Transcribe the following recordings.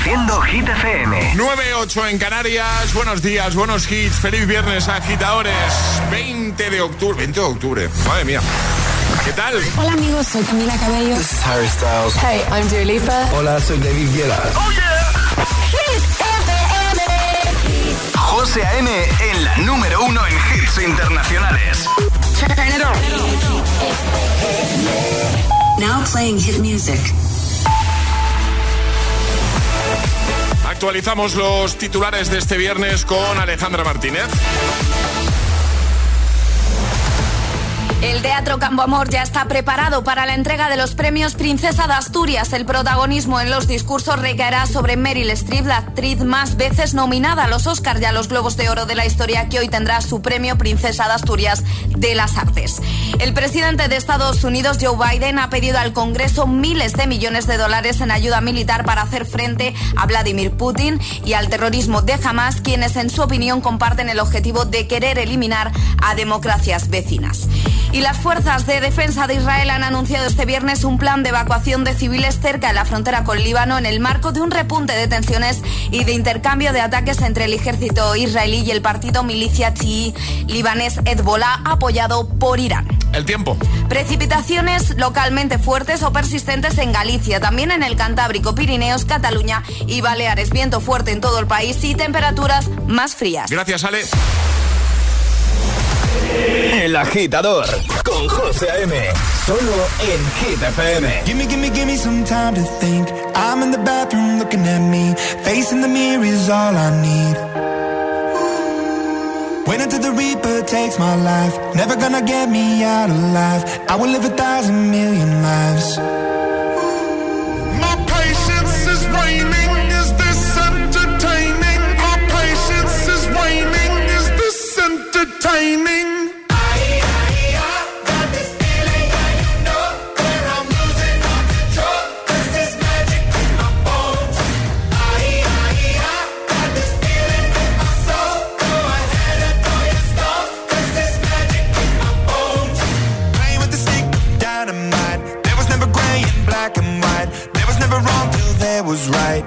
Haciendo Hit FM. 9:08 en Canarias. Buenos días, buenos hits. Feliz viernes, agitadores. 20 de octubre. Madre mía. ¿Qué tal? Hola amigos, soy Camila Cabello. This is Harry Styles. Hey, I'm Dua Lipa. Hola, soy David Guetta. ¡Oh, yeah! Hit FM. José A.M. en la número 1 en hits internacionales. Turn it on. Now playing hit music. Actualizamos los titulares de este viernes con Alejandra Martínez. El Teatro Campo Amor ya está preparado para la entrega de los premios Princesa de Asturias. El protagonismo en los discursos recaerá sobre Meryl Streep, la actriz más veces nominada a los Oscars y a los Globos de Oro de la historia, que hoy tendrá su premio Princesa de Asturias de las Artes. El presidente de Estados Unidos, Joe Biden, ha pedido al Congreso miles de millones de dólares en ayuda militar para hacer frente a Vladimir Putin y al terrorismo de Hamas, quienes en su opinión comparten el objetivo de querer eliminar a democracias vecinas. Y las fuerzas de defensa de Israel han anunciado este viernes un plan de evacuación de civiles cerca de la frontera con Líbano en el marco de un repunte de tensiones y de intercambio de ataques entre el ejército israelí y el partido milicia chií libanés Hezbollah, apoyado por Irán. El tiempo. Precipitaciones localmente fuertes o persistentes en Galicia, también en el Cantábrico, Pirineos, Cataluña y Baleares. Viento fuerte en todo el país y temperaturas más frías. Gracias, Ale. El Agitador con José A.M. Solo en Hit FM. Give me some time to think. I'm in the bathroom looking at me. Facing the mirror is all I need. Wait until the Reaper takes my life. Never gonna get me out alive. I will live 1,000,000,000 lives. My patience is waning. Is this entertaining? Our patience is waning. Is this entertaining? Was right.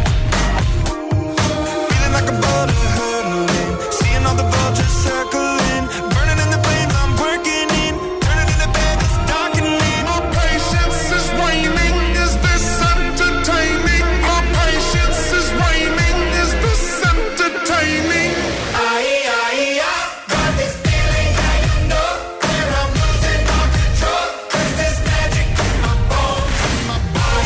Feeling like a boulder hurtling, seeing all the vultures circling, burning in the flames I'm working in, turning in the bed that's darkening. My patience is waning. Is this entertaining? My patience is waning. Is this entertaining? I got this feeling that you know where I'm losing all control. There's this magic in my bones, in my body.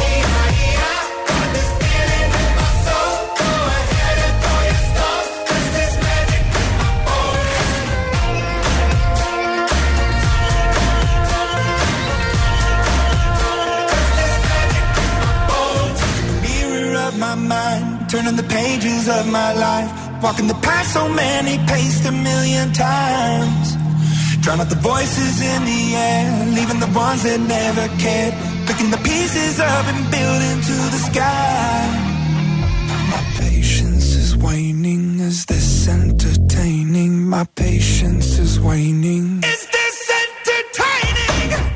Turning the pages of my life, walking the path so many paced 1,000,000 times. Drown out the voices in the air, leaving the ones that never cared. Picking the pieces up and building to the sky. My patience is waning. Is this entertaining? My patience is waning. Is this entertaining?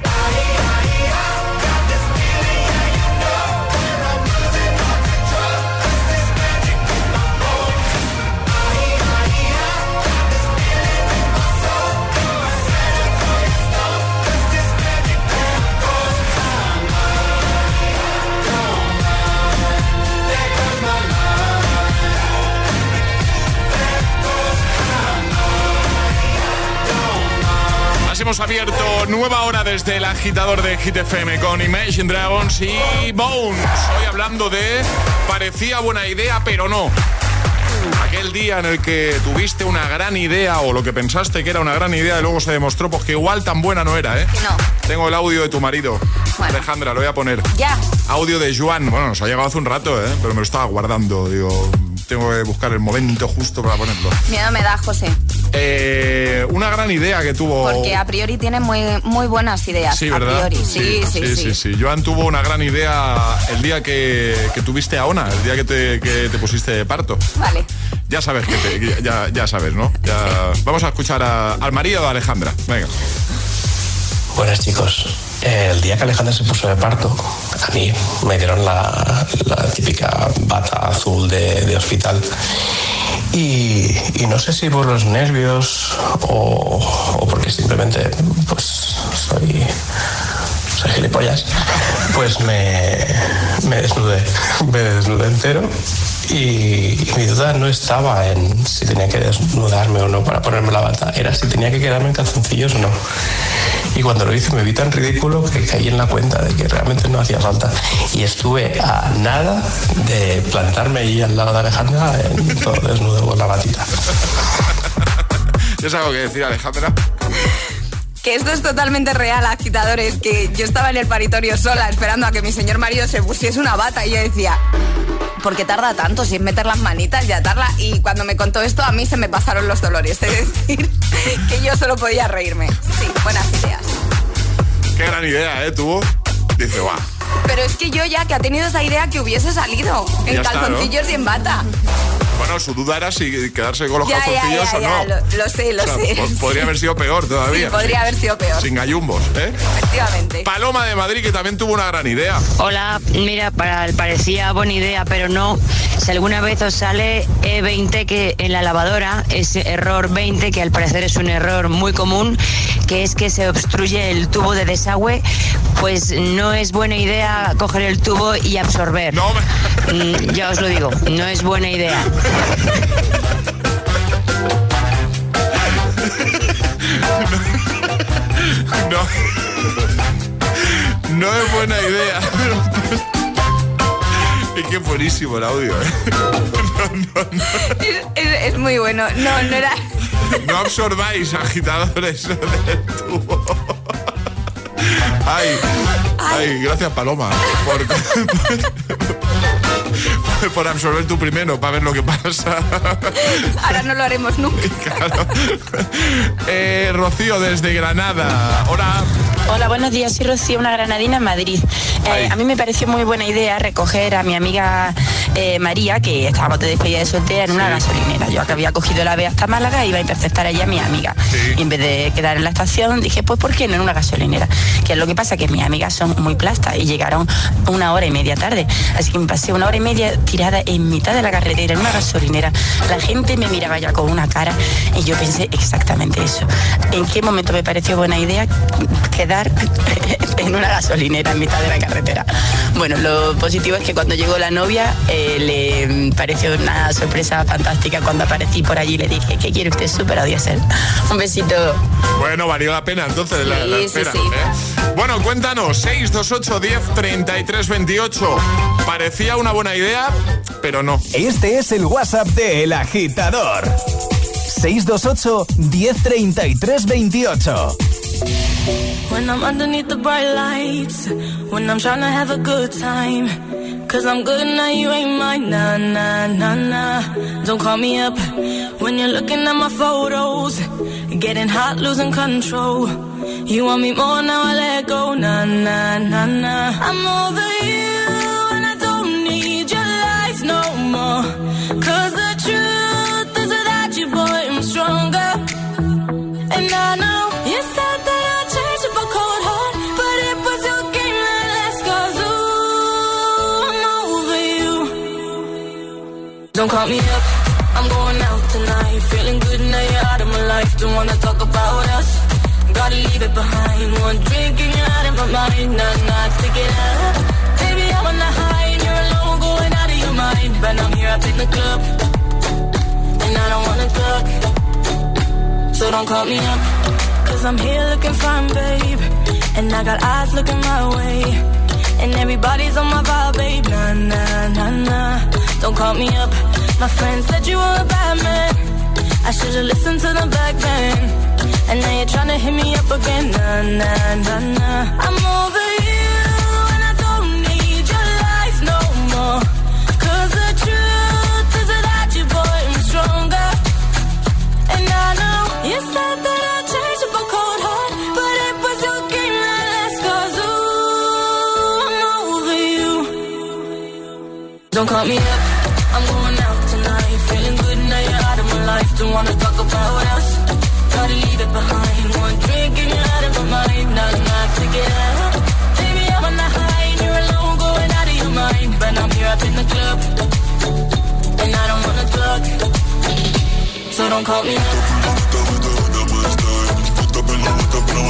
Hemos abierto nueva hora desde el Agitador de Hit FM con Imagine Dragons y Bones. Hoy hablando de parecía buena idea, pero no. Aquel día en el que tuviste una gran idea o lo que pensaste que era una gran idea y luego se demostró pues que igual tan buena no era, ¿eh? Que no. Tengo el audio de tu marido, bueno. Alejandra, lo voy a poner. Ya. Audio de Joan. Bueno, nos ha llegado hace un rato, ¿eh? Pero me lo estaba guardando. Digo, tengo que buscar el momento justo para ponerlo. Miedo me da, José. Una gran idea que tuvo. Porque a priori tiene muy buenas ideas. Sí, ¿verdad? A priori. Sí. Joan tuvo una gran idea el día que tuviste a Ona, el día que te pusiste de parto. Vale. Ya sabes ya sabes, ¿no? Ya. Sí. Vamos a escuchar al marido de Alejandra. Venga. Buenas, chicos. El día que Alejandra se puso de parto, a mí me dieron la típica bata azul de hospital. Y no sé si por los nervios o porque simplemente pues soy gilipollas, pues me desnudé entero. Y mi duda no estaba en si tenía que desnudarme o no para ponerme la bata, era si tenía que quedarme en calzoncillos o no. Y cuando lo hice me vi tan ridículo que caí en la cuenta de que realmente no hacía falta. Y estuve a nada de plantarme allí al lado de Alejandra en todo desnudo con la batita. ¿Tienes algo que decir, Alejandra? Que esto es totalmente real, agitadores, que yo estaba en el paritorio sola esperando a que mi señor marido se pusiese una bata y yo decía, ¿por qué tarda tanto sin meter las manitas y atarla? Y cuando me contó esto a mí se me pasaron los dolores, es decir, que yo solo podía reírme. Sí, buenas ideas. Qué gran idea, tuvo. Dice, va. Pero es que yo ya que ha tenido esa idea que hubiese salido en calzoncillos, ¿no? Y en bata. Bueno, su duda era si quedarse con los calzoncillos o no. Lo sé. Podría haber sido peor todavía. Sí, podría haber sido peor. Sin gallumbos, Efectivamente. Paloma de Madrid, que también tuvo una gran idea. Hola, mira, parecía buena idea, pero no. Si alguna vez os sale E20 que en la lavadora, ese error 20, que al parecer es un error muy común, que es que se obstruye el tubo de desagüe, pues no es buena idea coger el tubo y absorber. No, ya os lo digo, no es buena idea. No es buena idea. Es que es buenísimo el audio, No. Es muy bueno. No era. No absorbáis, agitadores del tubo. Ay, gracias, Paloma, por absorber tú primero, para ver lo que pasa. Ahora no lo haremos nunca. Claro. Rocío, desde Granada. Hola, buenos días, soy Rocío, una granadina en Madrid. A mí me pareció muy buena idea recoger a mi amiga María, que estábamos de despedida de soltera en una gasolinera. Yo que había cogido el AVE hasta Málaga e iba a interceptar allí a mi amiga. Sí. Y en vez de quedar en la estación, dije, pues ¿por qué no en una gasolinera? Que es lo que pasa, que mis amigas son muy plastas y llegaron 1 hora y media tarde. Así que me pasé 1 hora y media tirada en mitad de la carretera, en una gasolinera. La gente me miraba ya con una cara y yo pensé exactamente eso. ¿En qué momento me pareció buena idea quedar en una gasolinera en mitad de la carretera? Bueno, lo positivo es que cuando llegó la novia le pareció una sorpresa fantástica cuando aparecí por allí. Le dije, ¿qué quiere usted? Súper diésel. Un besito. Bueno, valió la pena entonces la espera. Sí. Bueno, cuéntanos, 628 10 33 28. Parecía una buena idea, pero no. Este es el WhatsApp de El Agitador. 628 10 33 28. When I'm underneath the bright lights, when I'm trying to have a good time, 'cause I'm good now, you ain't mine, nah, nah, nah, nah. Don't call me up when you're looking at my photos, getting hot, losing control. You want me more, now I let go, nah, nah, nah, nah. I'm over you and I don't need your lies no more, 'cause the truth is without you, boy, I'm stronger. And I know you said that I'd change up a cold heart, but it was your game that last, 'cause ooh, I'm over you. Don't call me up, I'm going out tonight, feeling good now you're out of my life. Don't wanna talk about us, gotta leave it behind. One drink and you're out of my mind, not to get up. Baby, I'm on the high and you're alone, going out of your mind. But I'm here up in the club, and I don't wanna talk, so don't call me up, 'cause I'm here looking fine, babe, and I got eyes looking my way, and everybody's on my vibe, babe, nah, nah, nah, nah. Don't call me up, my friends said you were a bad man, I should've listened to the back then, and now you're trying to hit me up again, nah, nah, nah, nah. I'm over you, and I don't need your lies no more, 'cause the truth is without you, boy, I'm stronger. And I know you said that I'd change up a cold heart, but it was your game that last, 'cause ooh, I'm over you. Don't call me up, I'm going out tonight, feeling good now you're out of my life. Don't wanna talk about us, gotta leave it behind. One drink and you're out of my mind, not to get up. Baby, I'm on the high and you're alone, your mind. But I'm here up in the club, and I don't wanna talk, so don't call me up. Don't call me up.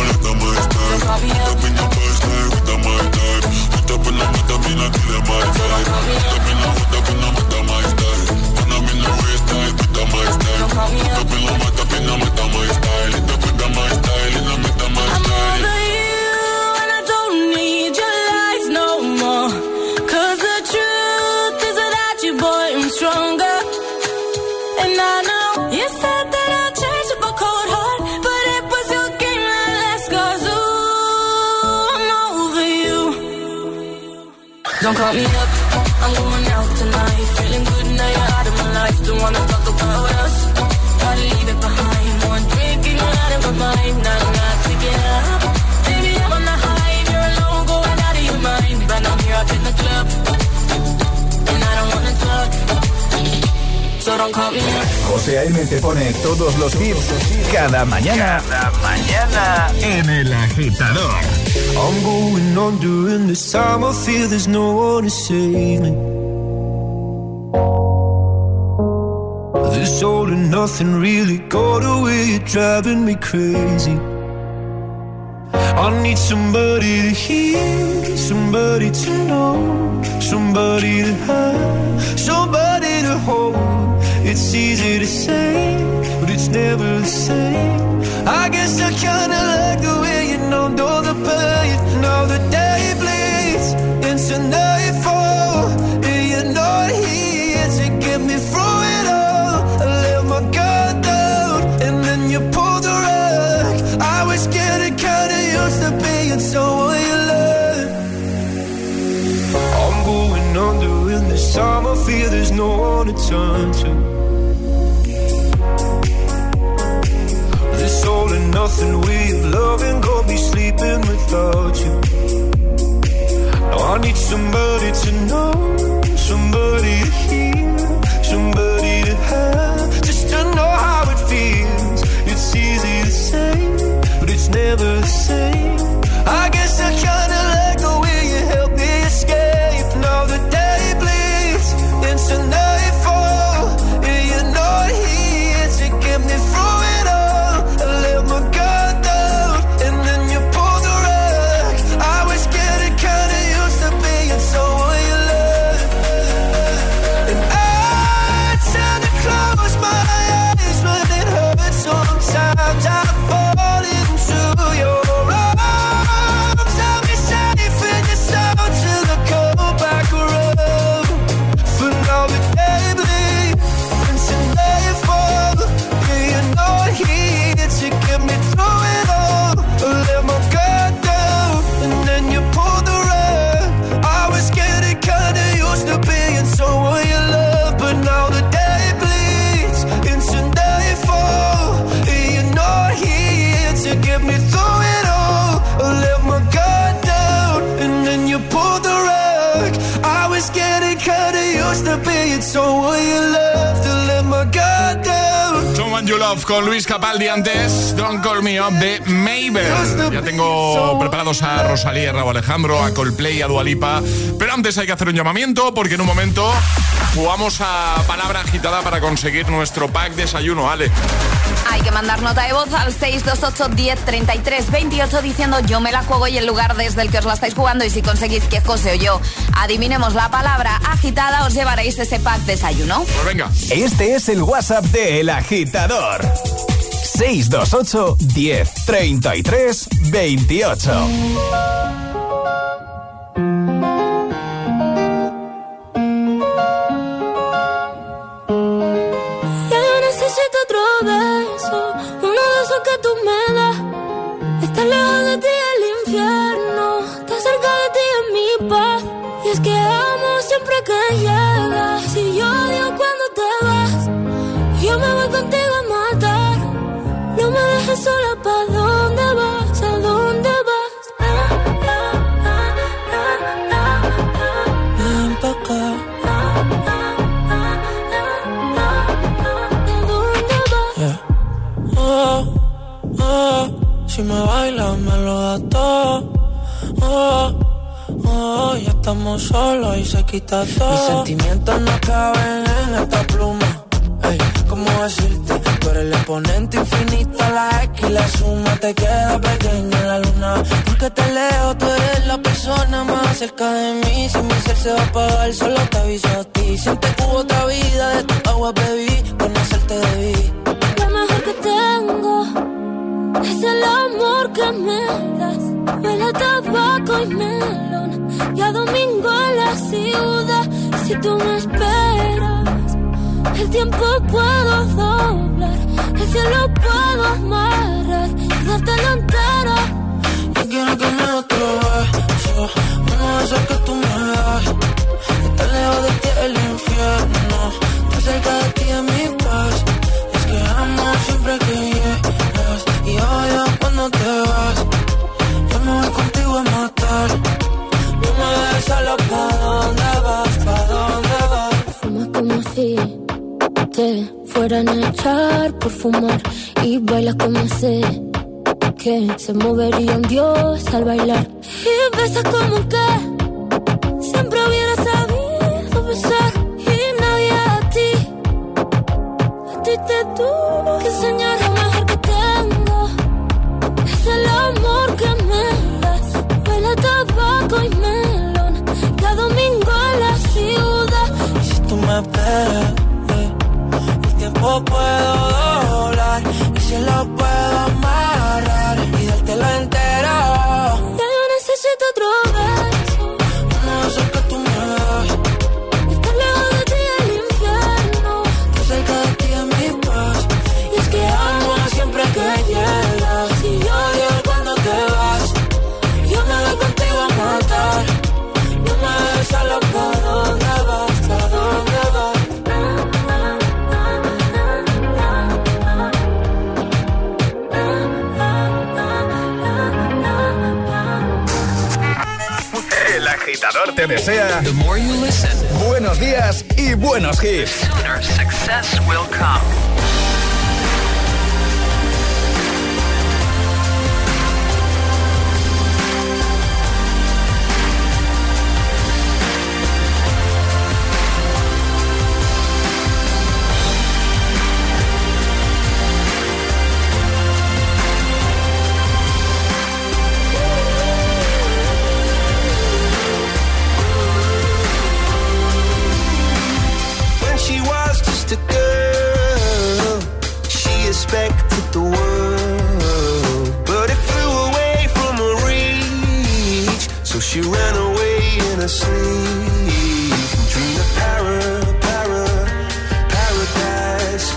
Don't call me up, I'm going out tonight. Feeling good now you're out of my life. Don't wanna talk about us, gotta leave it behind. One drink and you're out of my mind. Now I'm not picking up, baby I'm on the high. You're alone going out of your mind. But I'm here up in the club, and I don't wanna talk, so don't call me up. José A.M. te pone todos los hits cada mañana. Cada mañana en El Agitador. I'm going on during this time. I feel there's no one to save me. This all and nothing really got away. You're driving me crazy. I need somebody to hear, somebody to know, somebody to have, somebody to hold. It's easy to say, but it's never the same. I guess I kinda like the way you know the pain. Now the day bleeds into nightfall, and you're not here to get me through it all. I let my guard down, and then you pulled the rug. I was getting kinda used to being someone you love. I'm going under in this time. I feel there's no one to turn to. This all and nothing way of loving, go be sleeping without you. Now I need somebody to know, somebody to hear, somebody to have, just to know how it feels. It's easy to say, but it's never the same. I guess I kinda like the way you help me escape. Now the day bleeds into nightfall, and you're not here to get me through it all. I let my guard down, and then you pulled the rug. I was getting kinda used to being someone you love. And I tend to close my eyes when it hurts. Sometimes I fall into your arms. I'll be safe in your sound till I come back around. For now the day bleeds into nightfall, and you're not here to get me through it all. I let my guard down, and then you pulled the rug. I was getting kinda used to being someone you love, but now the day bleeds into nightfall, and you're not here to get me through it all. I let my guard down, and then you pulled the rug. I was getting kinda used to being someone you love, to let my guard down. Someone You Love con Luis Capaldi, antes Don't Call Me Up de Mabel. Ya tengo preparados a Rosalía, a Rauw Alejandro, a Coldplay, a Dua Lipa. Pero antes hay que hacer un llamamiento, porque en un momento jugamos a palabra agitada para conseguir nuestro pack desayuno, Ale. Hay que mandar nota de voz al 628 10 33 28 diciendo yo me la juego y el lugar desde el que os la estáis jugando, y si conseguís que José o yo adivinemos la palabra agitada os llevaréis ese pack desayuno. Pues venga. Este es el WhatsApp de El Agitador. 628 10 33 28. Que tú me das, estar lejos de ti el infierno, estar cerca de ti es mi paz. Y es que amo siempre que llegas. Si yo odio cuando te vas, yo me voy contigo a matar. No me dejes sola, ¿pa' dónde vas? ¿A dónde vas? Ven pa' acá. ¿A dónde vas? Si me bailas me lo das todo. Ya está estamos solos y se quita todo. Mis sentimientos no caben en esta pluma. Ey, ¿cómo decirte? Tú eres el exponente infinito, la X y la suma te queda pequeña en la luna. Porque te leo, tú eres la persona más cerca de mí. Si mi ser se va a apagar, solo te aviso a ti. Siente que hubo otra vida, de tu agua bebí, conocerte debí. Lo mejor que tengo es el amor que me das. Huele a tabaco y melón, y a domingo en la ciudad. Si tú me esperas, el tiempo puedo doblar, el cielo puedo amarrar y dártelo entero. Yo quiero que me otro beso, uno de esos que tú me das. Estar lejos de ti es el infierno, estar cerca de ti es mi paz. Es que amo siempre que llegas y odio cuando te vas. Yo me voy contigo a matar, no me dejes solo. ¿Pa' dónde vas? ¿Pa' dónde vas? Fumas como si te fueran a echar por fumar y bailas como sé que se movería un dios al bailar. Y besas como que siempre hubiera sabido besar y nadie a ti te tuvo que enseñar. Lo mejor que tengo es el amor que me das. Huele a tabaco y melón, cada domingo en la ciudad. Y si tú me esperas, el tiempo puedo doblar, el cielo puedo amarrar y dártelo entero. Ya yo necesito otro beso, uno de esos que tú me das. Estar lejos de ti es el infierno, Estar cerca de ti es mi paz. y es que Amo siempre que llegas y odio cuando te vas. Yo me voy contigo a matar, no me dejes solo. ¿Pa' dónde vas? ¿Pa' dónde vas? El agitador te desea buenos días y buenos hits. Sooner success will come. She was just a girl, she expected the world, but it flew away from her reach, so she ran away in her sleep, dreamed of paradise, paradise,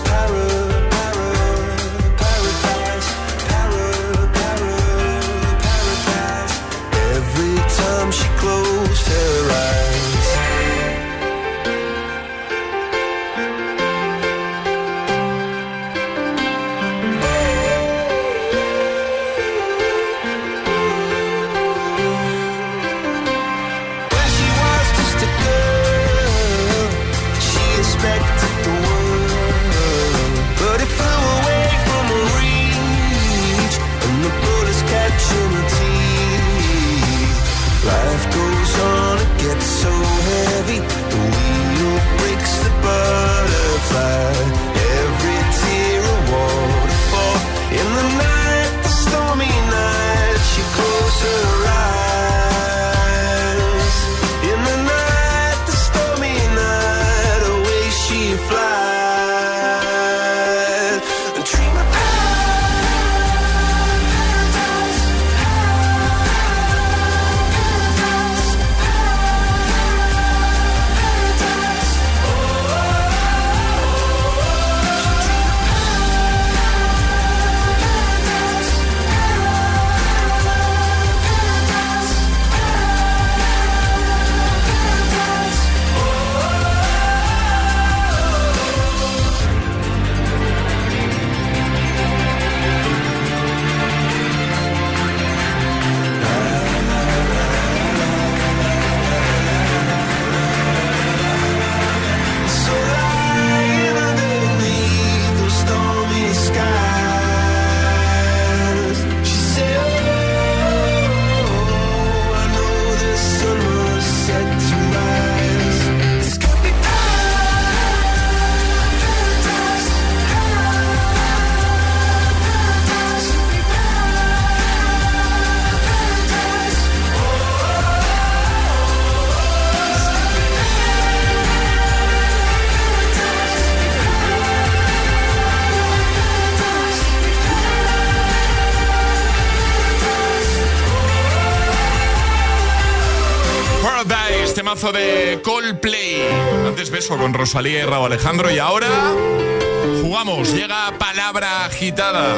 paradise. Every time she closed her eyes, life goes on, it gets so heavy. The wheel breaks the butterfly. Every tear a waterfall. In the night, the stormy night, she closed her eyes. In the night, the stormy night, away she flies. A dream of temazo de Coldplay. Antes beso con Rosalía y Rauw Alejandro. Y ahora jugamos. Llega palabra agitada.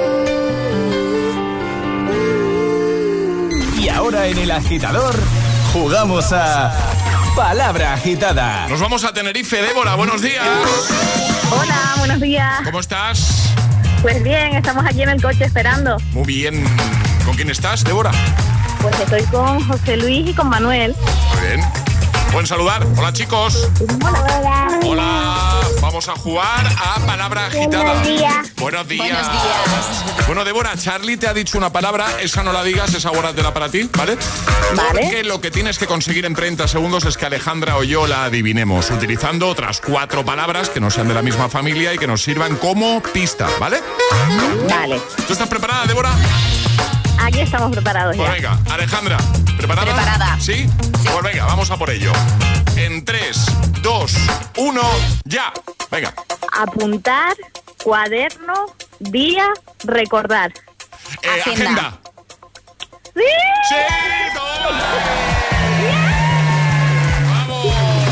Y ahora en El Agitador jugamos a palabra agitada. Nos vamos a Tenerife. Débora, buenos días. Hola, buenos días. ¿Cómo estás? Pues bien, estamos aquí en el coche esperando. Muy bien. ¿Con quién estás, Débora? Pues estoy con José Luis y con Manuel. Muy bien. Pueden saludar. Hola, chicos. Hola. Hola. Vamos a jugar a palabra agitada. Buenos días. Buenos días. Bueno, Débora, Charlie te ha dicho una palabra. Esa no la digas, esa guárdatela para ti, ¿vale? Porque lo que tienes que conseguir en 30 segundos es que Alejandra o yo la adivinemos, utilizando otras 4 palabras que no sean de la misma familia y que nos sirvan como pista, ¿vale? Vale. ¿Tú estás preparada, Débora? Aquí estamos preparados ya. Pues venga, Alejandra, ¿preparada? Preparada. ¿Sí? Pues venga, vamos a por ello. En 3, 2, 1, ya. Venga. Apuntar, cuaderno, día, recordar. Agenda. ¡Sí! ¡Sí! ¡Toma! ¡Vamos!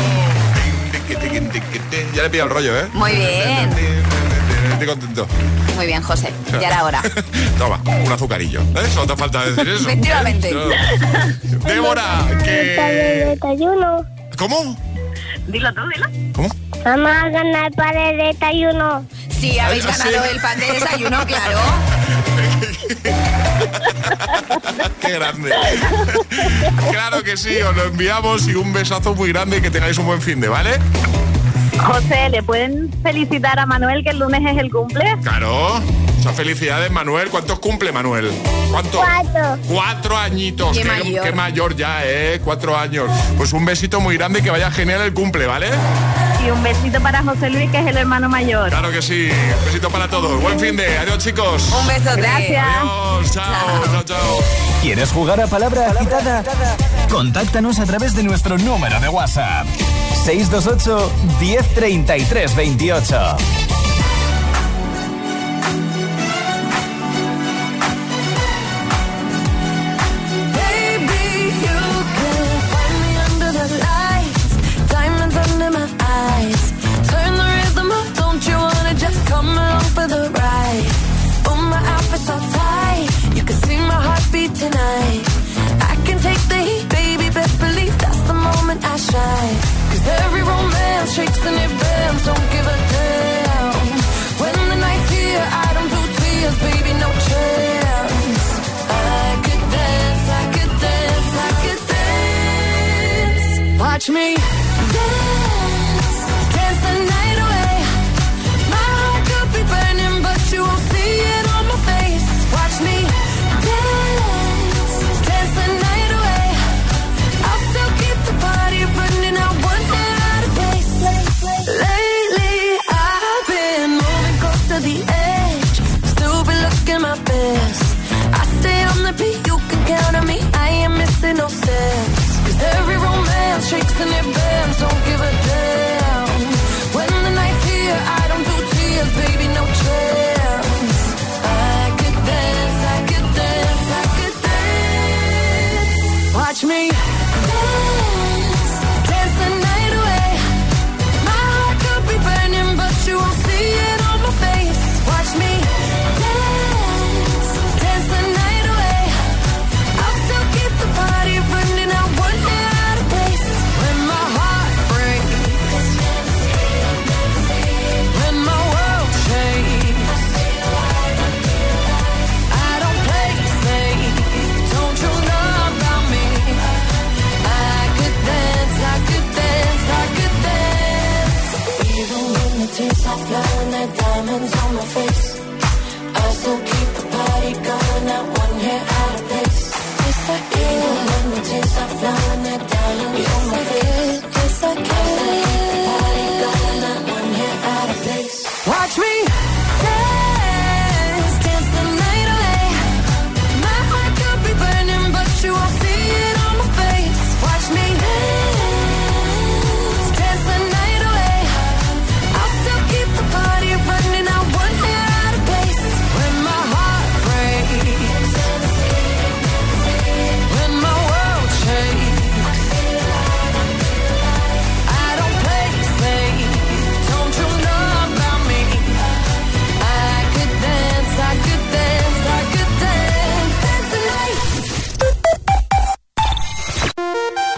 Ya le he pillado el rollo, ¿eh? Muy bien. Estoy contento. Muy bien, José. Ya era hora. Toma, un azucarillo. Solo te falta decir eso. Efectivamente. Débora, que... desayuno. ¿Cómo? Dilo tú, dilo. ¿Cómo? Vamos a ganar para el desayuno. Sí, habéis ganado el pan de desayuno, claro. Qué grande. Claro que sí, os lo enviamos y un besazo muy grande y que tengáis un buen finde, ¿vale? José, ¿le pueden felicitar a Manuel que el lunes es el cumple? Claro. Muchas felicidades, Manuel. ¿Cuántos cumple, Manuel? ¿Cuántos? 4. 4 añitos. Qué mayor ya, 4 años. Pues un besito muy grande y que vaya genial el cumple, ¿vale? Y un besito para José Luis, que es el hermano mayor. Claro que sí. Un besito para todos. Buen fin de. Adiós, chicos. Un besote. Gracias. Adiós. Chao. ¿Quieres jugar a palabra agitada? Contáctanos a través de nuestro número de WhatsApp. 628 1033 28. Tonight I can take the heat, baby, best believe that's the moment I shine. 'Cause every romance shakes and it bends, don't give a damn. When the night's here, I don't do tears, baby, no chance. I could dance, I could dance, I could dance. Watch me dance, dance the night away. My heart could be burning, but you won't see it on my face. Watch me no sense. 'Cause every romance shakes and it bends, don't give a damn. When the night's here, I don't do tears, baby, no chance. I could dance, I could dance, I could dance. Watch me dance, dance the night away. My heart could be burning, but you won't see it on my face. Watch me dance, dance the night away. I'll still keep the party running, I won't get out of place. When my heart breaks, when my world shakes, I don't play safe, don't you know about me? I could dance, I could dance, I could dance. Even when the tears are flowing, like diamonds on my face, I still keep the party going, not one hair out of place. Even when the tears are flowing, like diamonds on my face, yes I can. I still keep the party going, not one hair out of place. Watch me dance, dance the night away. My heart could be burning, but you won't see it on my face. Watch me dance, dance the night away. I'll still keep the party running, I won't get out of place. When my heart breaks, when my world shakes,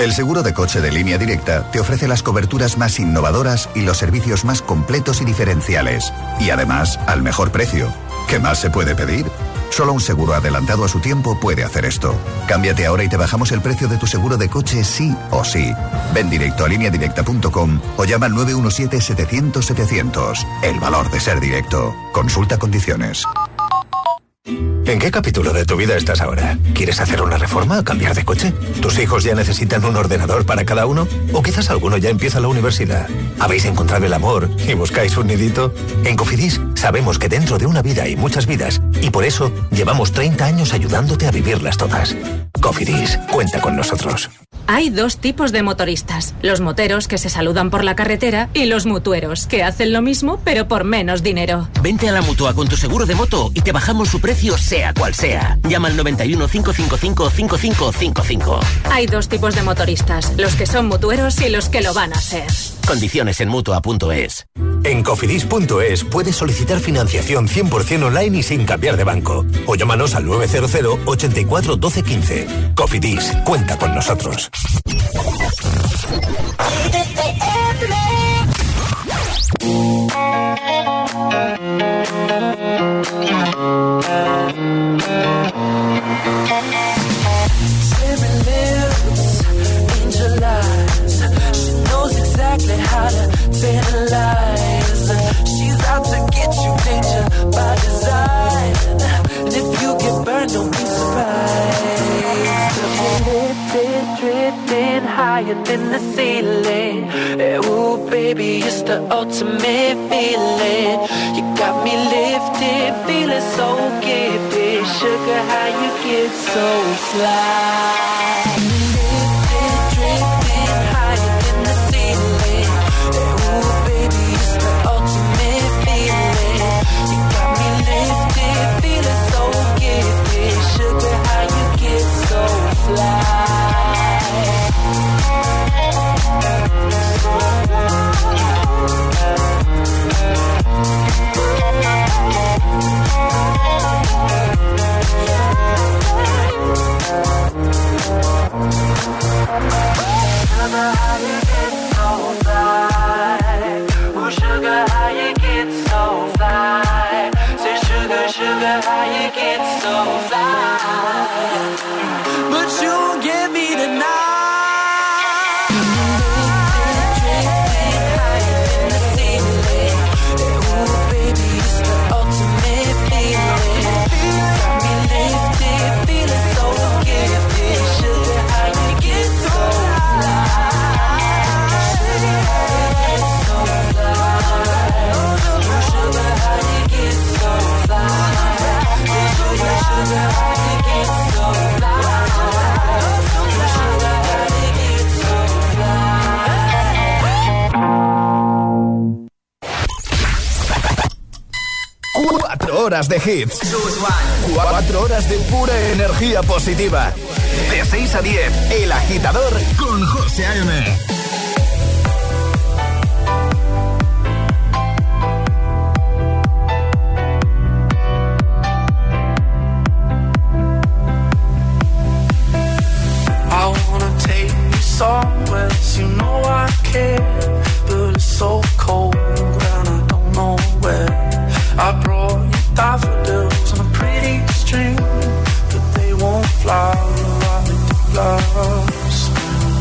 El seguro de coche de Línea Directa te ofrece las coberturas más innovadoras y los servicios más completos y diferenciales. Y además, al mejor precio. ¿Qué más se puede pedir? Solo un seguro adelantado a su tiempo puede hacer esto. Cámbiate ahora y te bajamos el precio de tu seguro de coche sí o sí. Ven directo a lineadirecta.com o llama al 917-700-700. El valor de ser directo. Consulta condiciones. ¿En qué capítulo de tu vida estás ahora? ¿Quieres hacer una reforma o cambiar de coche? ¿Tus hijos ya necesitan un ordenador para cada uno? ¿O quizás alguno ya empieza la universidad? ¿Habéis encontrado el amor y buscáis un nidito? En Cofidis sabemos que dentro de una vida hay muchas vidas y por eso llevamos 30 años ayudándote a vivirlas todas. Cofidis, cuenta con nosotros. Hay dos tipos de motoristas, los moteros que se saludan por la carretera y los mutueros que hacen lo mismo pero por menos dinero. Vente a la Mutua con tu seguro de moto y te bajamos su precio sea cual sea. Llama al 91 555 5555. Hay dos tipos de motoristas, los que son mutueros y los que lo van a ser. Condiciones en Mutua.es. En Cofidis.es puedes solicitar financiación 100% online y sin cambiar de banco. O llámanos al 900 84 12 15. Cofidis, cuenta con nosotros. How to tantalize. She's out to get you, danger by design. And if you get burned, don't be surprised. Lifted, drifting higher than the ceiling. Ooh, baby, it's the ultimate feeling. You got me lifted, feeling so gifted. Sugar, how you get so fly? Horas de hits, 4 horas de pura energía positiva. De 6 a 10, El Agitador con José A.M. I wanna take you somewhere, you know I care, but it's so cold and I don't know where. I brought you daffodils on a pretty string, but they won't fly like they do last spring.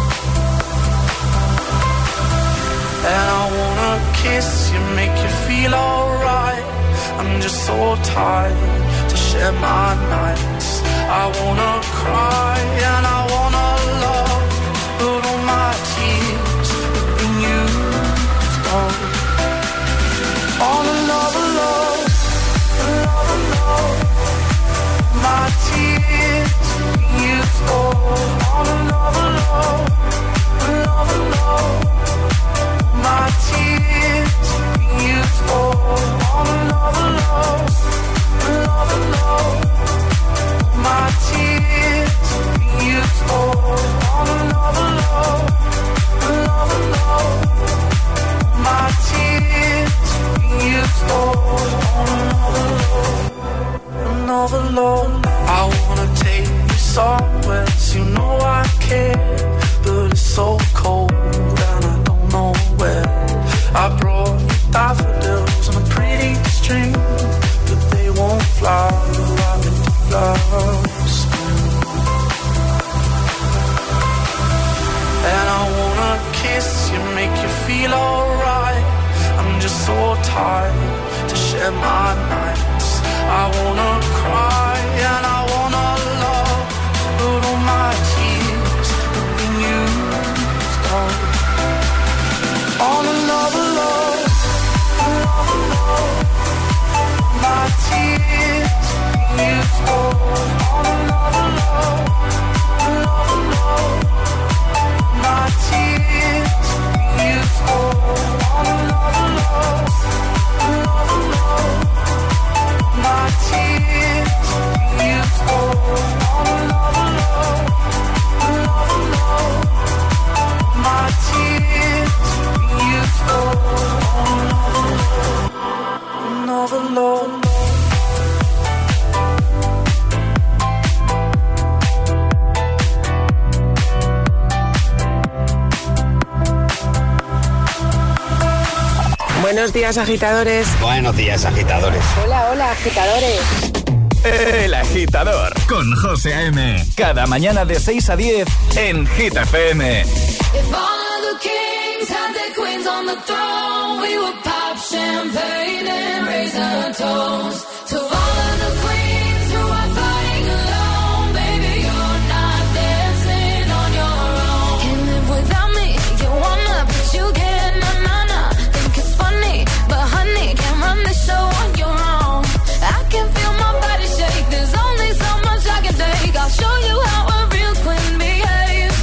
And I wanna kiss you, make you feel alright. I'm just so tired to share my nights. I wanna cry and I wanna love, but all my tears have been used up. All alone. My tears used all another love. My tears used all another love. My tears used all another love. feel alright. I'm just so tired to share my nights. I wanna cry and I wanna love, but all my tears have been used up. On another love, another love. My tears have been used up. On another love, another love. My tears have been used up. On another love, another love. My tears have been used up. On another love, another love. My tears have been used up. On another love. Buenos días, agitadores. Buenos días, agitadores. Hola, hola, agitadores. El Agitador con José A.M. Cada mañana de 6 a 10 en Hit FM. If all of the kings had their queens on the throne, we would pop champagne and raise a toast to all of the queens who are fighting alone. Baby, you're not dancing on your own. Can't live without me, you wanna, but you can't, na-na-na. Think it's funny, but honey, can't run the show on your own. I can feel my body shake, there's only so much I can take. I'll show you how a real queen behaves.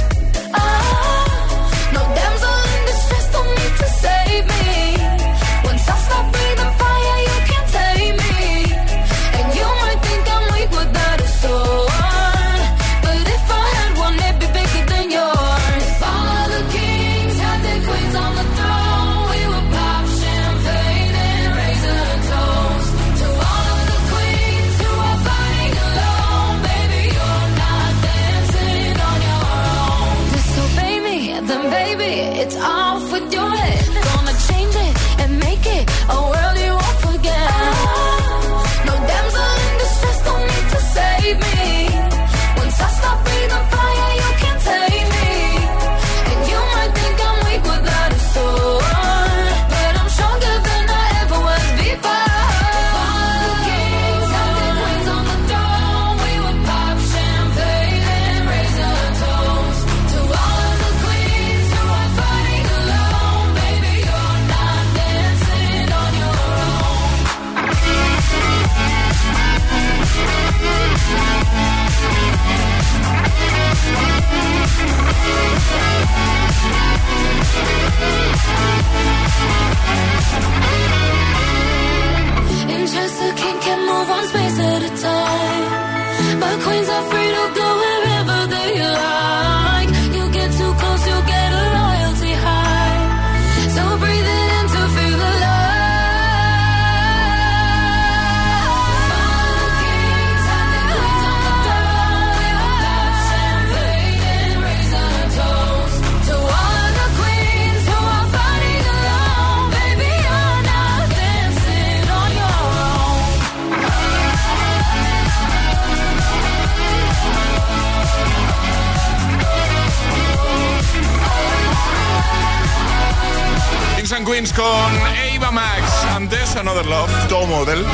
No damsel in distress, don't need to save me. Once I stop breathing fire, you can't tame me. And you might think I'm weak without a sword, but if I had one, it'd be bigger than yours. If all of the kings had their queens on the throne, we would pop champagne and raise a toast to all of the queens who are fighting alone. Baby, you're not dancing on your own. Disobey me, then baby, it's off with your head. Gonna change it and make it a world you won't forget. No damsel in distress, don't need to save me. Once I stop breathing fire, you can't take me. And you might think I'm weak without a sword, but I'm stronger than I ever was before. All the kings had their queens on the throne, we would pop champagne and raise a toast to all of the queens who are fighting alone. Baby, you're not dancing on your own. In Chester, king can move one space at a time, but queens are free to go wherever they like. You get too close, you'll get a royalty high. So breathe it in to feel the love. All the kings had their queens on the throne, we would pop champagne and raise a toast to all of the queens who are fighting alone. Baby, you're not dancing on your own. Kings and Queens con Ava Max. Antes, Another Love, Top Model.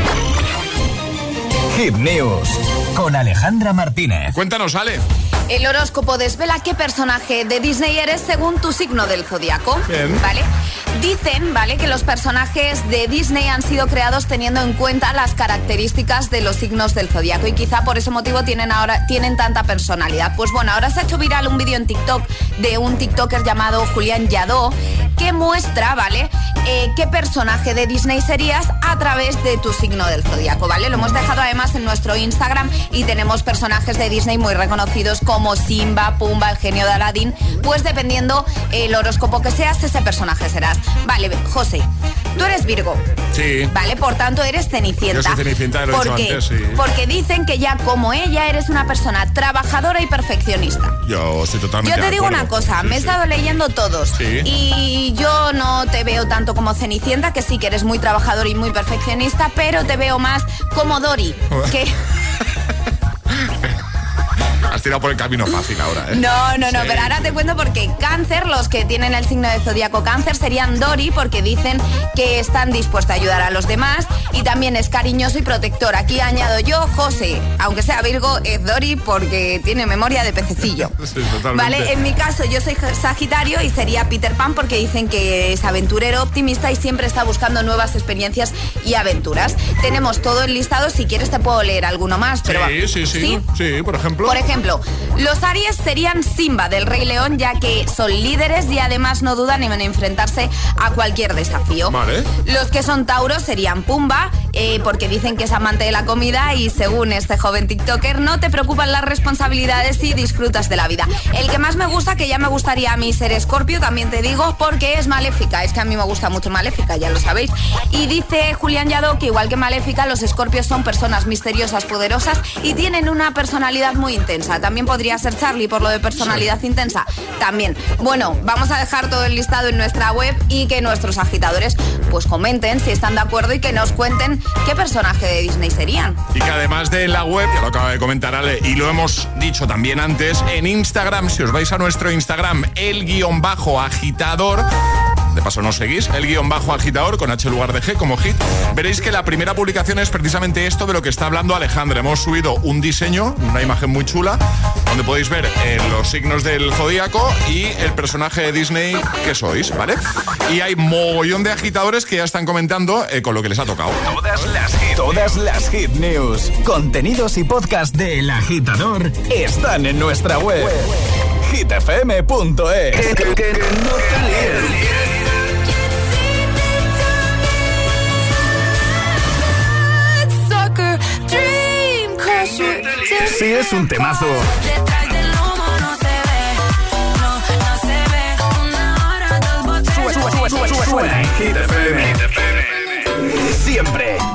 Hit News con Alejandra Martínez. Cuéntanos, Ale. El horóscopo desvela qué personaje de Disney eres según tu signo del zodiaco. Bien. ¿Vale? Dicen, ¿vale?, que los personajes de Disney han sido creados teniendo en cuenta las características de los signos del zodiaco y quizá por ese motivo tienen tanta personalidad. Pues bueno, ahora se ha hecho viral un vídeo en TikTok de un TikToker llamado Julián Yadó que muestra, ¿vale?, qué personaje de Disney serías a través de tu signo del zodiaco, ¿vale? Lo hemos dejado además en nuestro Instagram y tenemos personajes de Disney muy reconocidos como Simba, Pumba, el genio de Aladdin. Pues dependiendo el horóscopo que seas, ese personaje serás. Vale, José, tú eres Virgo. Sí. Vale, por tanto eres Cenicienta. Yo soy Cenicienta, lo he dicho antes, sí. Porque dicen que ya como ella eres una persona trabajadora y perfeccionista. Yo estoy totalmente Yo te digo de acuerdo. una cosa, Sí, me he estado leyendo todos. Sí. Y yo no te veo tanto como Cenicienta, que sí que eres muy trabajador y muy perfeccionista, pero te veo más como Dory, que... tirado por el camino fácil ahora, ¿eh? No, pero ahora te cuento porque Cáncer, los que tienen el signo de zodiaco Cáncer, serían Dori, porque dicen que están dispuestos a ayudar a los demás, y también es cariñoso y protector. Aquí añado yo, José, aunque sea Virgo, es Dori porque tiene memoria de pececillo. Sí, totalmente. Vale, en mi caso yo soy Sagitario y sería Peter Pan porque dicen que es aventurero, optimista y siempre está buscando nuevas experiencias y aventuras. Tenemos todo el listado, si quieres te puedo leer alguno más. Pero sí, por ejemplo. Por ejemplo, los Aries serían Simba del Rey León, ya que son líderes y además no dudan en enfrentarse a cualquier desafío. Vale. Los que son Tauros serían Pumba, porque dicen que es amante de la comida y según este joven TikToker no te preocupan las responsabilidades y disfrutas de la vida. El que más me gusta, que ya me gustaría a mí ser Escorpio, también te digo, porque es Maléfica. Es que a mí me gusta mucho Maléfica, ya lo sabéis. Y dice Julián Yado que igual que Maléfica, los Escorpios son personas misteriosas, poderosas y tienen una personalidad muy intensa. También podría ser Charlie por lo de personalidad intensa. También. Bueno, vamos a dejar todo el listado en nuestra web y que nuestros agitadores pues comenten si están de acuerdo y que nos cuenten qué personaje de Disney serían. Y que además de la web, ya lo acaba de comentar Ale, y lo hemos dicho también antes, en Instagram, si os vais a nuestro Instagram, _agitador, de paso nos seguís, _agitador con H en lugar de G como hit, veréis que la primera publicación es precisamente esto de lo que está hablando Alejandra. Hemos subido un diseño, una imagen muy chula, donde podéis ver los signos del zodíaco y el personaje de Disney que sois, ¿vale? Y hay mogollón de agitadores que ya están comentando con lo que les ha tocado. Todas las hit news, contenidos y podcast de El Agitador están en nuestra web. hitfm.es. Que no te líes. Sí, es un temazo. Suena en Hit FM. Siempre.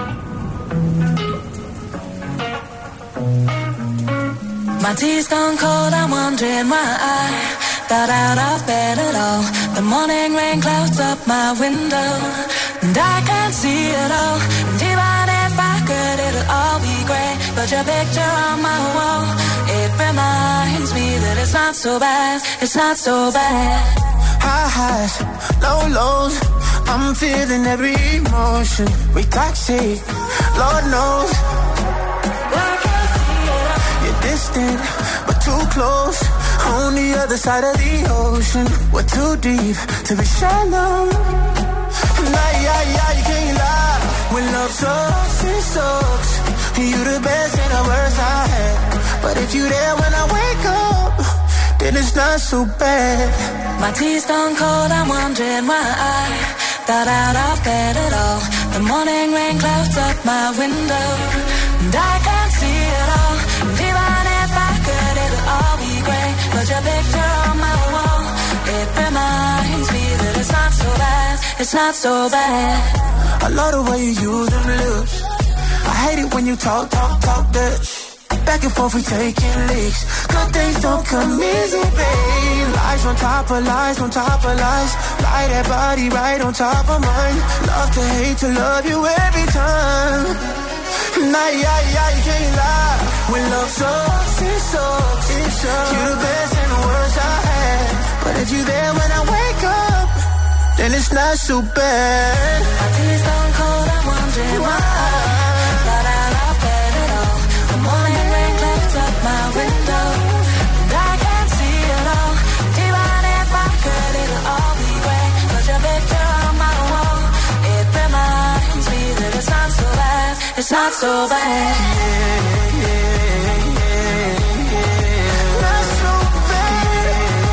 My tea's gone cold, I'm wondering why I got out of bed at all. The morning rain clouds up my window, and I can't see it all. And even if I could, it'll all be great. But your picture on my wall, it reminds me that it's not so bad, it's not so bad. High highs, low lows, I'm feeling every emotion. We toxic, Lord knows. You're distant, but too close. On the other side of the ocean, we're too deep to be shallow. You can't lie. When love sucks, it sucks. You the best and the worst I had. But if you there when I wake up, then it's not so bad. My tea's gone cold, I'm wondering why I got out of bed at all. The morning rain clouds up my window, and I can't see it all. And even if I could, it'll all be great. But your picture on my wall, it reminds me that it's not so bad, it's not so bad. I love the way you use them lips. I hate it when you talk that. Back and forth we taking leaks. Good things don't come easy, babe. Lies on top of lies on top of lies. Lie that body right on top of mine. Love to hate to love you every time. You can't lie. When love sucks, it sucks. It sucks. You're the best and the worst I had. But if you're there when I wake up, then it's not so bad. My tea's gone cold, I'm wondering why I got out of bed at all. The morning rain clouds up my window, and I can't see it all. Even if I could, it'll all be great. But your picture on my wall, it reminds me that it's not so bad, it's not so bad. Not so bad.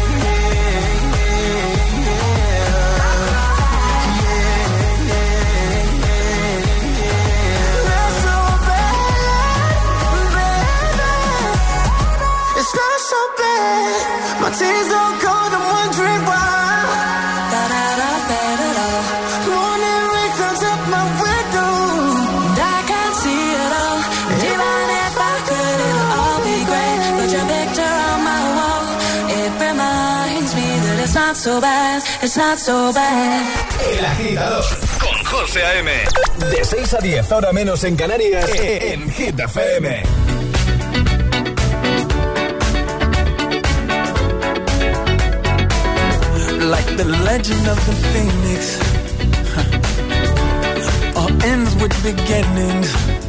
Not so bad. It's not so bad. My tears don't cold, I'm wondering why. Got out of bed at all. Morning rain comes up my window, and I can't see it all. And even if I could, it'll all be great. But your picture on my wall, it reminds me that it's not so bad, it's not so bad. El Agitador con José A.M. De 6 a 10, hora menos en Canarias, en Hit FM. The legend of the phoenix all ends with beginnings.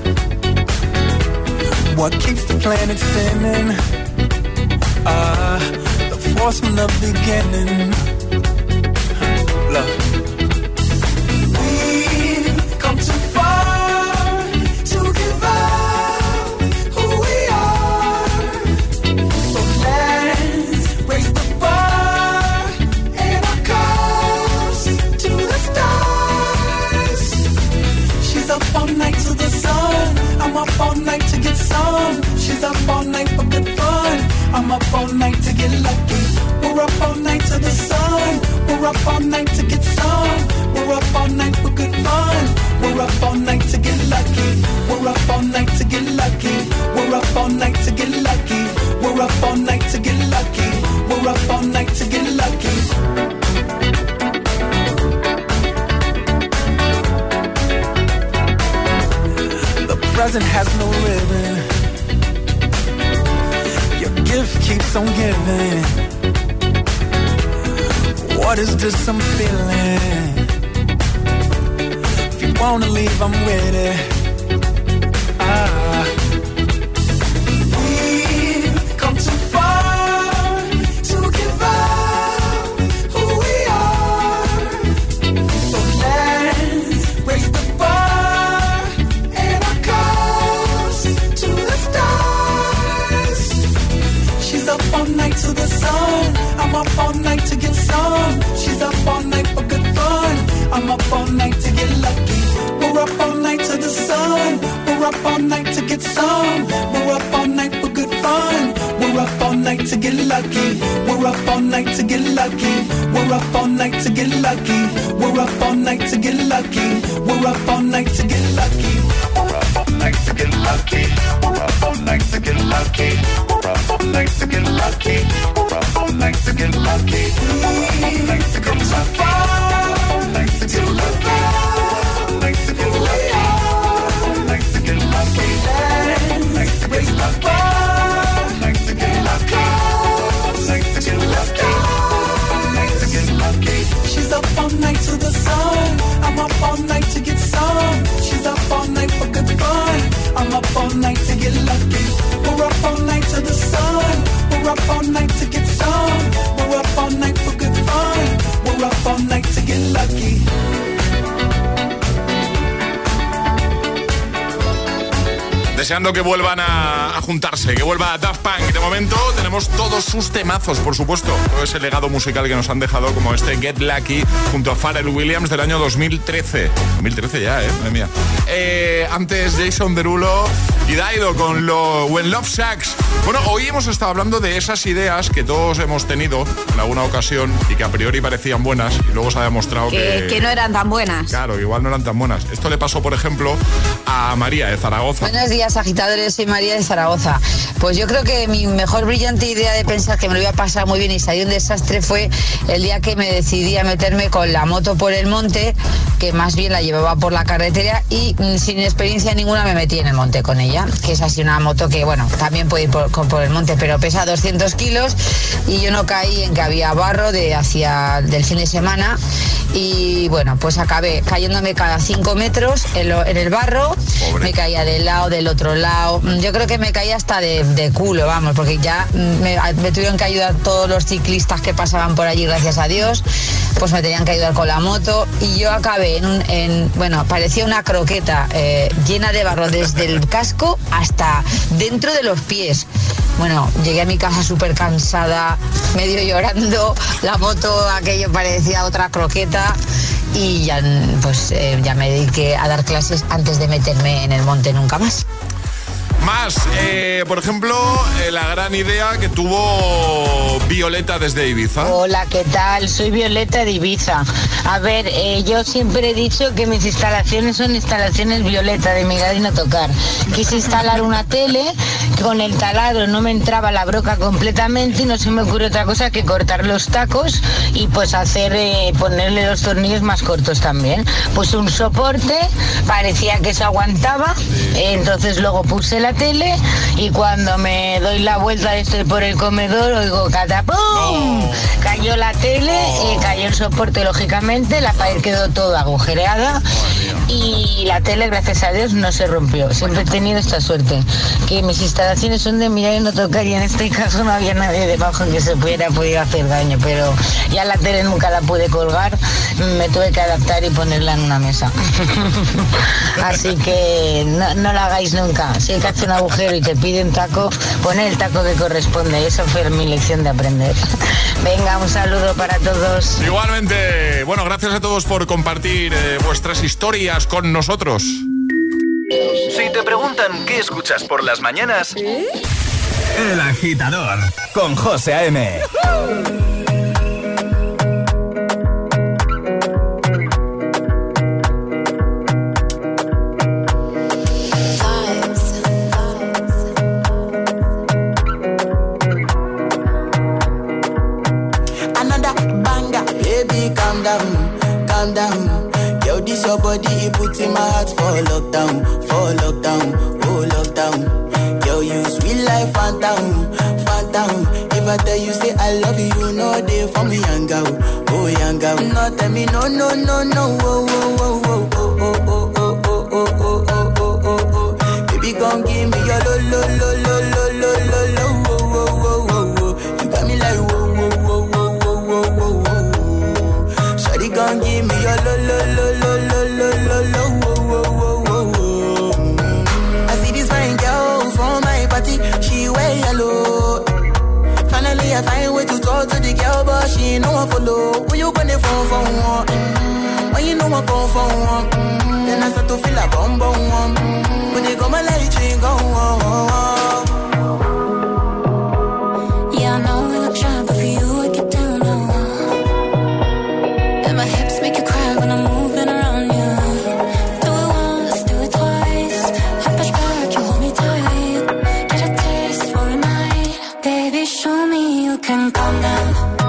What keeps the planet spinning? The force from the beginning. Love. We've come too far to give up who we are. So let's raise the bar and our cups to the stars. She's up all night to the sun. I'm up all night to get some. She's up all night for good fun. I'm up all night to get lucky. We're up all night to the sun. We're up all night to get some. We're up all night for good fun. We're up all night to get lucky. We're up all night to get lucky. We're up all night to get lucky. We're up all night to get lucky. We're up all night to get lucky. The present has no ribbon. Your gift keeps on giving. What is this I'm feeling? If you wanna leave, I'm with it. We've come too far to give up who we are. So let's raise the bar and our cups to the stars. She's up all night to the sun. I'm up all night to get some. She's up all night for good fun. I'm up all night to get lucky. We're up all night to the sun. We're up all night to get some. We're up all night for good fun. We're up all night to get lucky. We're up all night to get lucky. We're up all night to get lucky. We're up all night to get lucky. We're up all night to get lucky. We're up all night to get lucky. We're up all night to get lucky. We're up all night to get lucky. We're up all night to get lucky. We're up all night to get lucky. All night to get lucky. All night to get lucky. All night to get lucky. All night to get lucky. All night to get lucky. All night to get lucky. All night to get lucky. She's up all night to the sun. I'm up all night to get some. She's up all night for good fun. I'm up all night to get lucky. We're up all night to the sun. We're up all night to get some. We're up all night for good fun. We're up all night to get lucky. Deseando que vuelvan a juntarse, que vuelva Daft Punk. De momento tenemos todos sus temazos, por supuesto. Todo ese legado musical que nos han dejado, como este Get Lucky junto a Pharrell Williams del año 2013. 2013 ya, madre mía. Antes Jason Derulo y Daido con lo When Love Sucks. Bueno, hoy hemos estado hablando de esas ideas que todos hemos tenido en alguna ocasión y que a priori parecían buenas y luego se ha demostrado que no eran tan buenas. Claro, igual no eran tan buenas. Esto le pasó, por ejemplo, a María de Zaragoza. Buenos días, agitadores, soy María de Zaragoza. Pues yo creo que mi mejor brillante idea de pensar que me lo iba a pasar muy bien y salir un desastre fue el día que me decidí a meterme con la moto por el monte, que más bien la llevaba por la carretera y sin experiencia ninguna me metí en el monte con ella, que es así una moto que, bueno, también puede ir por el monte, pero pesa 200 kilos y yo no caí en que había barro del fin de semana y, bueno, pues acabé cayéndome cada 5 metros en el barro. Pobre. Me caía del lado, del otro lado, yo creo que me caía hasta de culo, vamos, porque ya me tuvieron que ayudar todos los ciclistas que pasaban por allí, gracias a Dios, pues me tenían que ayudar con la moto y yo acabé bueno, parecía una croqueta llena de barro desde el casco hasta dentro de los pies. Bueno, llegué a mi casa súper cansada, medio llorando, la moto aquello parecía otra croqueta y ya, pues, ya me dediqué a dar clases antes de meterme en el monte nunca más. Más, por ejemplo, la gran idea que tuvo Violeta desde Ibiza. Hola, ¿qué tal? Soy Violeta de Ibiza. A ver, yo siempre he dicho que mis instalaciones son instalaciones Violeta, de mirar y no tocar. Quise instalar una tele, con el taladro no me entraba la broca completamente y no se me ocurrió otra cosa que cortar los tacos y pues ponerle los tornillos más cortos también. Puse un soporte, parecía que se aguantaba, entonces luego puse la tele y cuando me doy la vuelta estoy por el comedor oigo catapum. No. Cayó la tele, cayó el soporte lógicamente, la pared quedó toda agujereada y la tele, gracias a Dios, no se rompió. Siempre he tenido esta suerte, que mis instalaciones son de mirar y no tocar, y en este caso no había nadie debajo que se hubiera podido hacer daño, pero ya la tele nunca la pude colgar, me tuve que adaptar y ponerla en una mesa. Así que no la hagáis nunca. Si hay que hacer un agujero y te piden taco, poner el taco que corresponde. Esa fue mi lección de aprender. Venga, un saludo para todos. Igualmente. Bueno, gracias a todos por compartir vuestras historias con nosotros. Si te preguntan qué escuchas por las mañanas, El Agitador con José A.M. Calm down. Yo, this your body, it puts in my heart for lockdown, oh lockdown. Yo, you sweet life, phantom. If I tell you say I love you, you know they for me, young girl. No, tell me no, oh. Baby, gon' give me your lo. You got me like whoa. Gon' give me your lo. I see this fine girl from my party, she wear yellow. Finally I find way to talk to the girl, but she ain't no one follow. Who you gonna phone for one? When you know I come for one, then I start to feel a bum. When they go my light, she go on. Yeah, I know we look shy, but for you I get down low. My hips make you cry when I'm moving around you. Do it once, do it twice. I push back, you hold me tight. Get a taste for a night. Baby, show me you can calm down.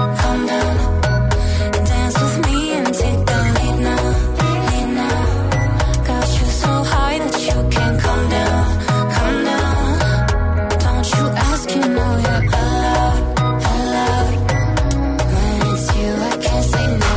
Dance with me and take the lead now. Got you so high that you can't calm down. Don't you ask, you know you're allowed. When it's you, I can't say no.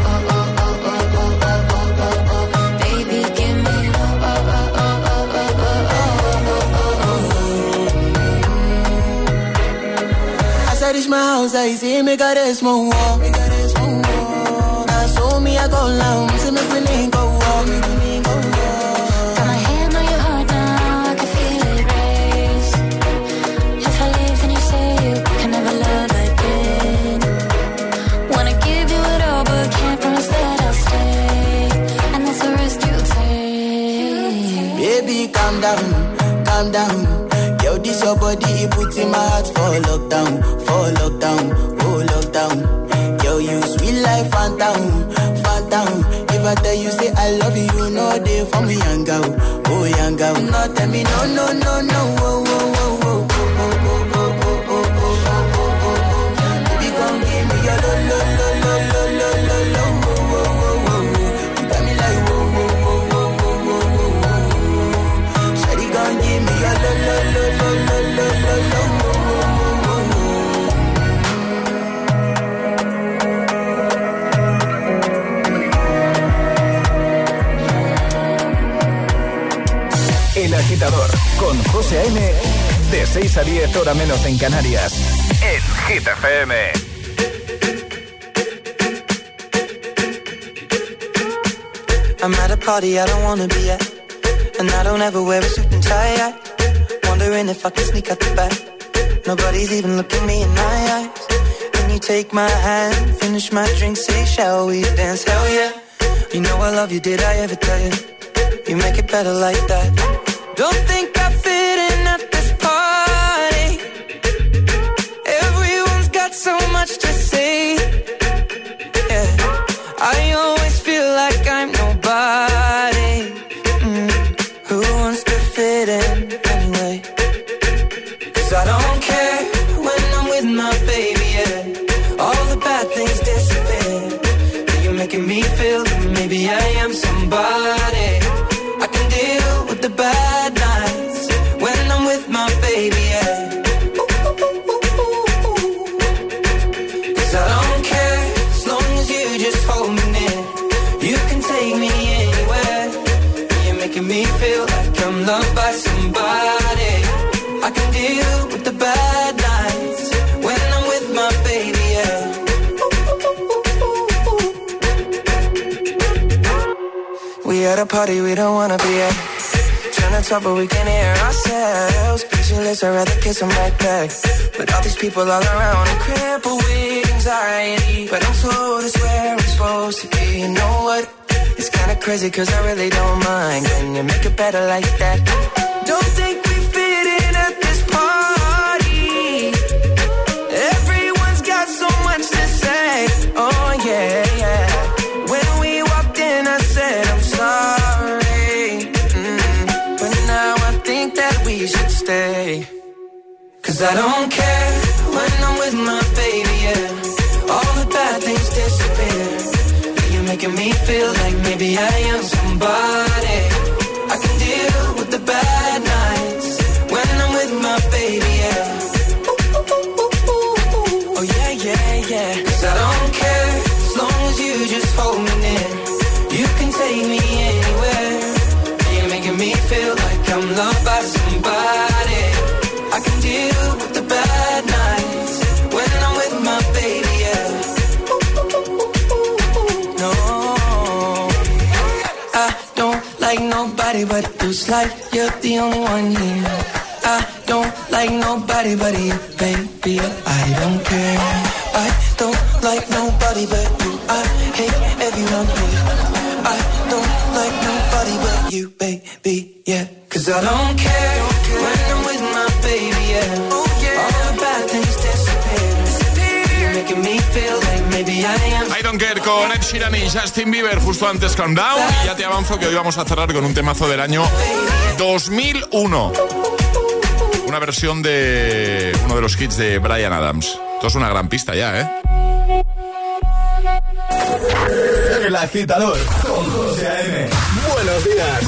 Reach my house, I see me got a small wall. Now so me I go loud, see me willing go walk. Got my hand on your heart now, I can feel it race. If I leave, then you say you can never love again. Wanna give you it all, but can't promise that I'll stay. And that's the risk you take. Baby, calm down. Yo, this your body, it puts in my heart for lockdown, oh lockdown. Yo, you sweet life, phantom. If I tell you say I love you, you know they for me, young girl. No, tell me no, oh. Baby, gon' give me your lo. You got me like whoa. Shawty gon' give me your lo. El Agitador con José A.M. de 6 a 10 hora menos en Canarias en Hit FM. I'm at a party I don't wanna be at, and I don't ever wear a suit and tie. Wondering if I can sneak out the back. Nobody's even looking me in my eyes. When you take my hand, finish my drink, say shall we dance? Hell yeah. You know I love you, did I ever tell you? You make it better like that. Don't think I fit in at this party. Everyone's got so much to say. Yeah, I always feel like I'm nobody. Who wants to fit in anyway? 'Cause I don't care when I'm with my baby, yeah. All the bad things disappear. You're making me feel that maybe I am somebody. I can deal with the bad nights when I'm loved by somebody. I can deal with the bad nights when I'm with my baby, yeah. We at a party we don't wanna be at. Trying to talk but we can't hear ourselves. Pictureless, I'd rather kiss them right back. But all these people all around, I'm crippled with anxiety. But I'm told it's where I'm supposed to be. You know what? It's kinda crazy cause I really don't mind. Can you make it better like that? Don't think we fit in at this party. Everyone's got so much to say. Oh yeah, yeah. When we walked in I said I'm sorry. But now I think that we should stay. Cause I don't care when I'm with my baby, yeah. All the bad things disappear. You're making me feel like maybe I am somebody. I can deal with the bad nights when I'm with my baby, yeah. Oh yeah, yeah, yeah. Cause I don't care as long as you just hold me near. You can take me anywhere. You're making me feel like I'm loved by somebody. I can deal with the bad nights when I'm with my baby, yeah. No, I don't like nobody but you. It's like you're the only one here. I don't like nobody but you, baby. I don't care. I don't like nobody but you. I hate everyone here. I don't like nobody but you, baby, yeah. Cause I don't care when I'm with my baby, yeah. Oh, yeah. All the bad things disappear. You're making me feel like maybe I am. I Don't Care con Ed Sheeran y Justin Bieber justo antes con Down. Y ya te avanzo que hoy vamos a cerrar con un temazo del año 2001. Una versión de uno de los hits de Bryan Adams. Esto es una gran pista ya, ¿eh? El Agitador con José A.M. Buenos días.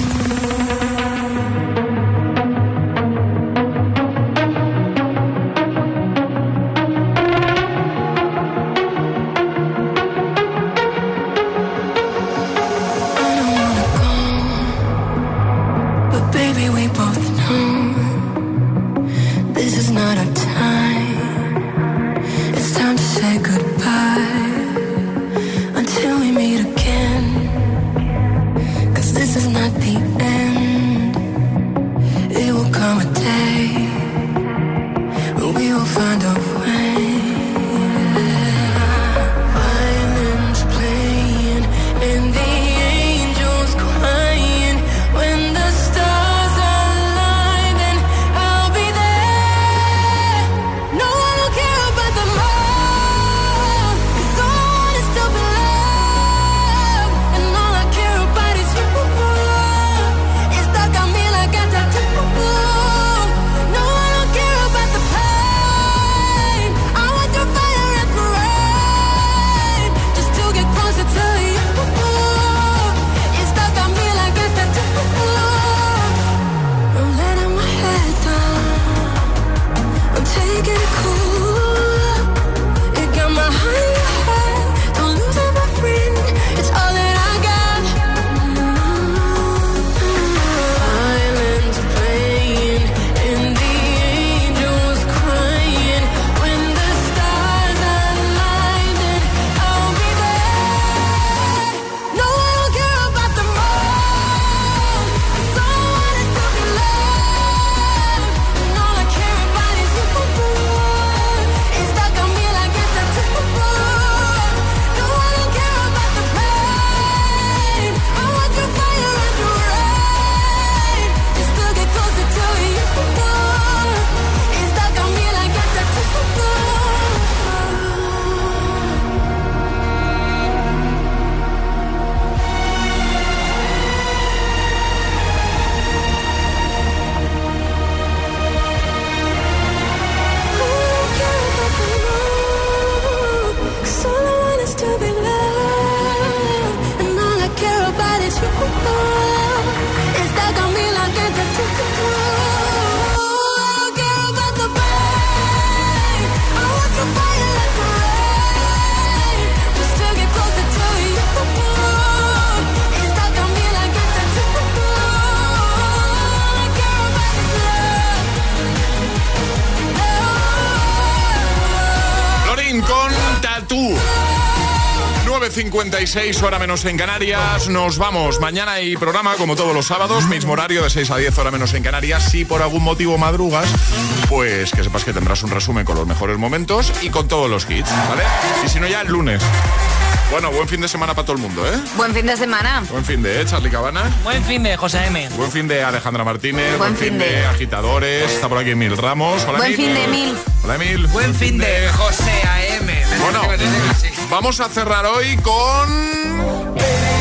9:56, hora menos en Canarias. Nos vamos. Mañana hay programa, como todos los sábados, mismo horario de 6 a 10, hora menos en Canarias. Si por algún motivo madrugas, pues que sepas que tendrás un resumen con los mejores momentos y con todos los hits, ¿vale? Y si no, ya el lunes. Bueno, buen fin de semana para todo el mundo, ¿eh? Buen fin de semana. Buen fin de, Charly Cabana. Buen fin de José M. Buen fin de Alejandra Martínez. Buen fin de Agitadores. Está por aquí Emil Ramos. Hola, buen Emil. fin de Emil. Hola, Emil. Buen fin de José AM. Bueno, vamos a cerrar hoy con...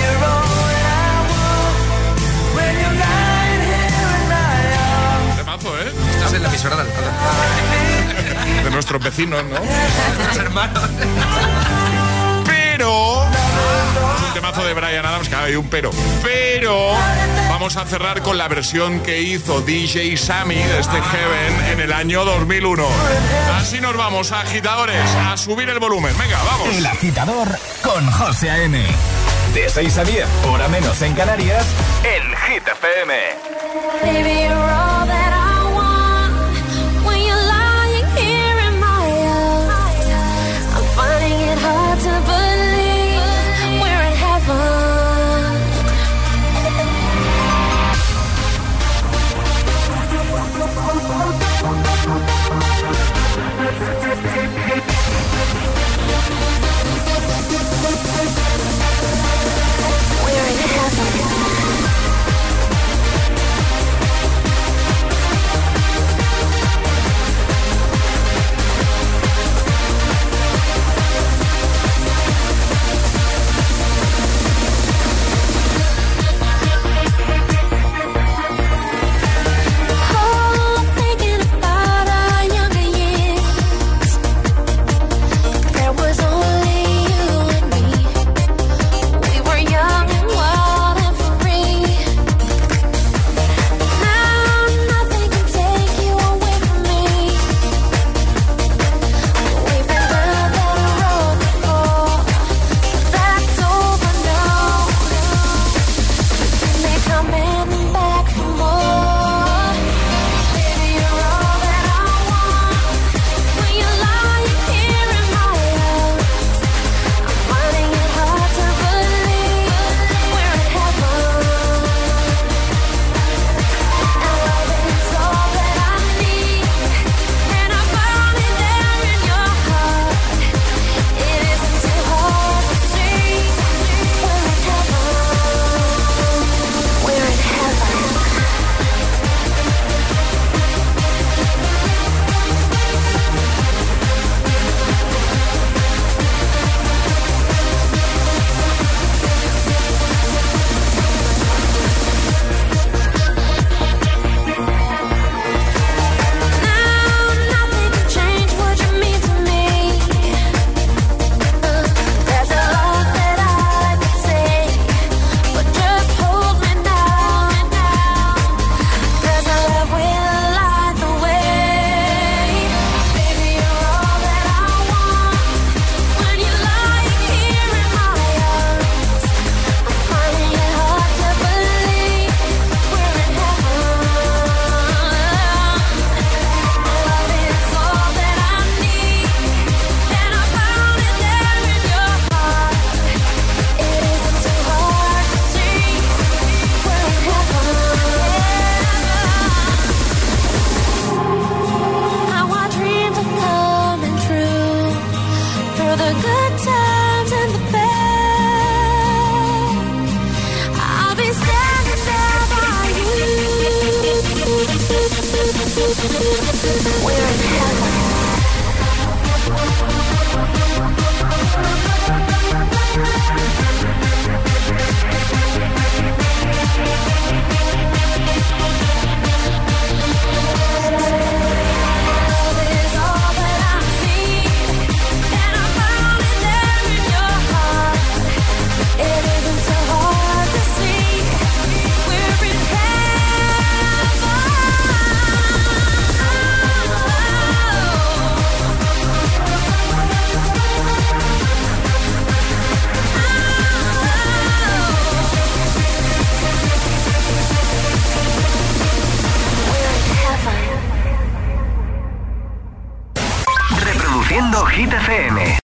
Temazo, ¿eh? Estás en la emisora de Alcalá. De nuestros vecinos, ¿no? Nuestros hermanos. Pero... un temazo de Bryan Adams, que hay un pero. Pero vamos a cerrar con la versión que hizo DJ Sammy de este Heaven en el año 2001. Así nos vamos, agitadores, a subir el volumen. Venga, vamos. El Agitador con José A.M. De 6 a 10, hora menos en Canarias, en Hit FM. Baby, you're all that I want. When you're lying here in my arms, I'm finding it hard to believe we're in heaven. We're in heaven. Hit FM.